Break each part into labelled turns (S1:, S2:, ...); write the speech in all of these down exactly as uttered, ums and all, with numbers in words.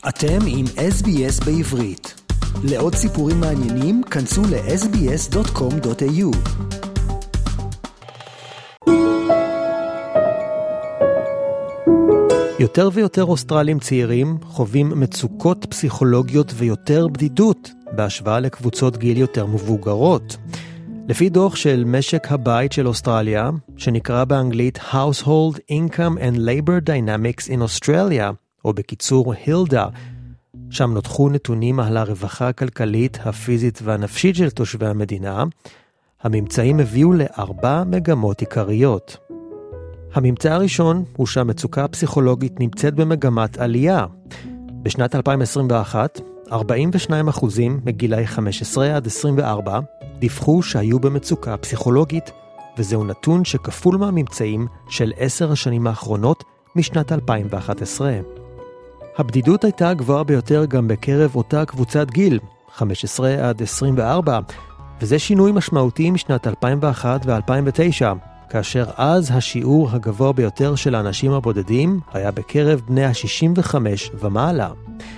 S1: אתם עם אס בי אס בעברית. לעוד סיפורים מעניינים, כנסו ל אס בי אס דוט קום דוט איי יו. יותר ויותר אוסטרלים צעירים חווים מצוקות פסיכולוגיות ויותר בדידות בהשוואה לקבוצות גיל יותר מבוגרות. לפי דוח של משק הבית של אוסטרליה, שנקרא באנגלית Household Income and Labor Dynamics in Australia, או בקיצור הילדה, שם נותחו נתונים על הרווחה הכלכלית, הפיזית והנפשית של תושבי המדינה. הממצאים הביאו לארבע מגמות עיקריות. הממצא הראשון הוא שהמצוקה הפסיכולוגית נמצאת במגמת עלייה. בשנת אלפיים עשרים ואחת, ארבעים ושניים אחוזים מגילאי חמש עשרה עד עשרים וארבע דיווחו שהיו במצוקה פסיכולוגית, וזהו נתון שכפול מהממצאים של עשר השנים האחרונות משנת אלפיים ואחת עשרה. הבדידות הייתה הגבוהה ביותר גם בקרב אותה קבוצת גיל, חמש עשרה עד עשרים וארבע, וזה שינוי משמעותי משנת אלפיים ואחת ו-אלפיים ותשע, כאשר אז השיעור הגבוה ביותר של האנשים הבודדים היה בקרב בני ה-שישים וחמש ומעלה.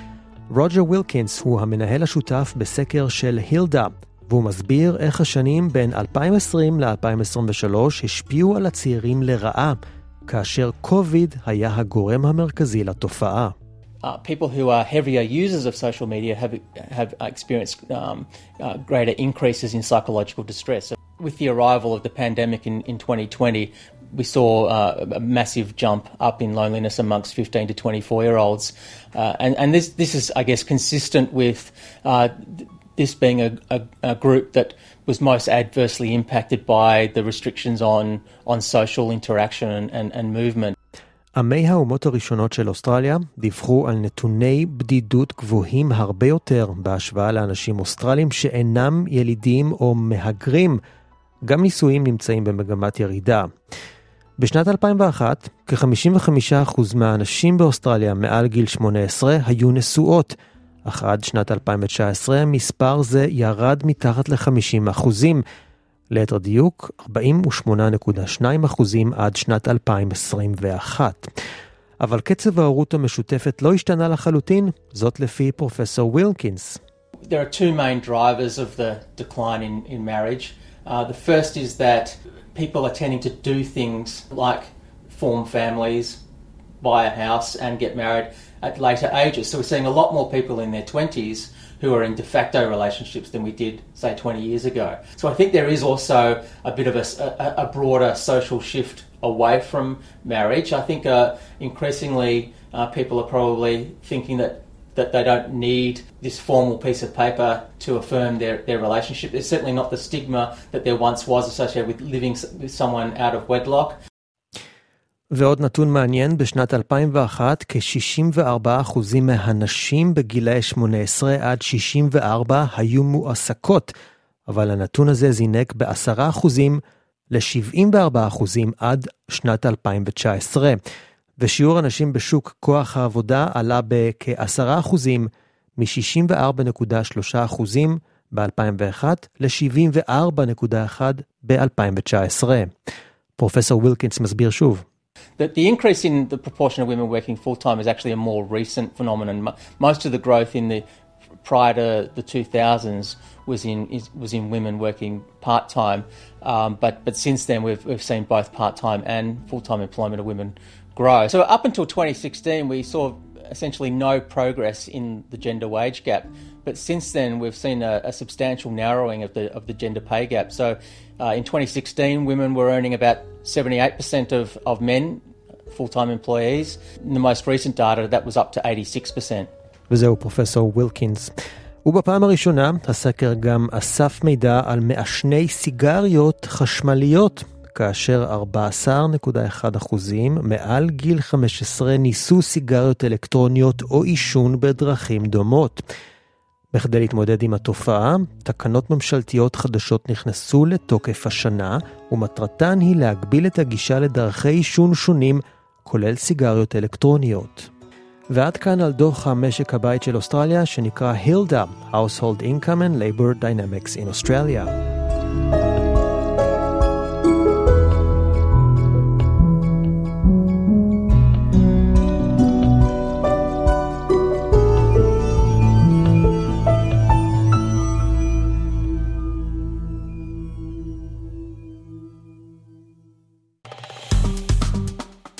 S1: רוג'ר ווילקינס הוא המנהל השותף בסקר של הילדה, והוא מסביר איך השנים בין אלפיים ועשרים ל-אלפיים עשרים ושלוש השפיעו על הצעירים לרעה, כאשר קוביד היה הגורם המרכזי לתופעה.
S2: Uh, people who are heavier users of social media have have experienced um, uh, greater increases in psychological distress. So with the arrival of the pandemic in, in twenty twenty, we saw uh, a massive jump up in loneliness amongst fifteen to twenty-four-year-olds. Uh, and, and this, this is, I guess, consistent with uh, this being a, a, a group that was most adversely impacted by the restrictions on, on social interaction and, and, and movement.
S1: עמי האומות הראשונות של אוסטרליה דיווחו על נתוני בדידות גבוהים הרבה יותר בהשוואה לאנשים אוסטרלים שאינם ילידים או מהגרים. גם נישואים נמצאים במגמת ירידה. בשנת אלפיים ואחת, כ-חמישים וחמישה אחוז מהאנשים באוסטרליה מעל גיל שמונה עשרה היו נשואות, אך עד שנת אלפיים ותשע עשרה מספר זה ירד מתחת ל-חמישים אחוזים, ליתר דיוק ארבעים ושמונה נקודה שתיים אחוזים עד שנת אלפיים עשרים ואחת. אבל קצב ההורות המשותפת לא השתנה לחלוטין, זאת לפי פרופסור ווילקינס.
S2: There are two main drivers of the decline in, in marriage. Uh, the first is that people are tending to do things like form families, buy a house and get married at later ages. So we're seeing a lot more people in their twenties who are in de facto relationships than we did, say, twenty years ago. So I think there is also a bit of a, a, a broader social shift away from marriage. I think uh, increasingly uh, people are probably thinking that that they don't need this formal piece of paper to affirm their, their relationship. There's certainly not the stigma that there once was associated with living with someone out of wedlock.
S1: ועוד נתון מעניין, בשנת אלפיים ואחת כ-שישים וארבעה אחוזים מהנשים בגילאי שמונה עשרה עד שישים וארבע היו מועסקות, אבל הנתון הזה זינק ב-עשרה אחוזים ל-שבעים וארבעה אחוזים עד שנת אלפיים ותשע עשרה, ושיעור הנשים בשוק כוח העבודה עלה בכ-עשרה אחוזים מ-שישים וארבע נקודה שלושה אחוזים ב-אלפיים ואחת ל-שבעים וארבע נקודה אחת ב-אלפיים ותשע עשרה. פרופסור ווילקינס מסביר שוב.
S2: That the increase in the proportion of women working full-time is actually a more recent phenomenon. Most of the growth in the prior to the two thousands was in is, was in women working part-time, um, but but since then we've we've seen both part-time and full-time employment of women grow. So up until twenty sixteen, we saw essentially no progress in the gender wage gap, but since then we've seen a, a substantial narrowing of the of the gender pay gap. So uh, in twenty sixteen, women were earning about seventy-eight percent of of men full-time employees. In the most recent data, that was up to eighty-six percent.
S1: וזהו פרופסור ווילקינס. ובפעם הראשונה, הסקר גם אסף מידע על מעשני סיגריות חשמליות, כאשר ארבעה עשר נקודה אחת אחוזים מעל גיל חמש עשרה ניסו סיגריות אלקטרוניות או עישון בדרכים דומות. בכדי להתמודד עם התופעה, תקנות ממשלתיות חדשות נכנסו לתוקף השנה, ומטרתן היא להגביל את הגישה לדרכי עישון שונים, כולל סיגריות אלקטרוניות. ועד כאן על דוח המשק הבית של אוסטרליה, שנקרא הילדה, Household Income and Labor Dynamics in Australia.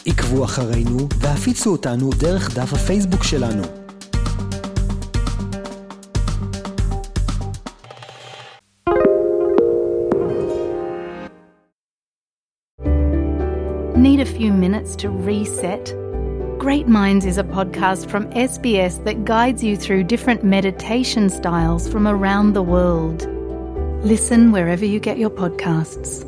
S1: עקבו אחרינו והפיצו אותנו דרך דף הפייסבוק שלנו.
S3: Need a few minutes to reset? Great Minds is a podcast from S B S that guides you through different meditation styles from around the world. Listen wherever you get your podcasts.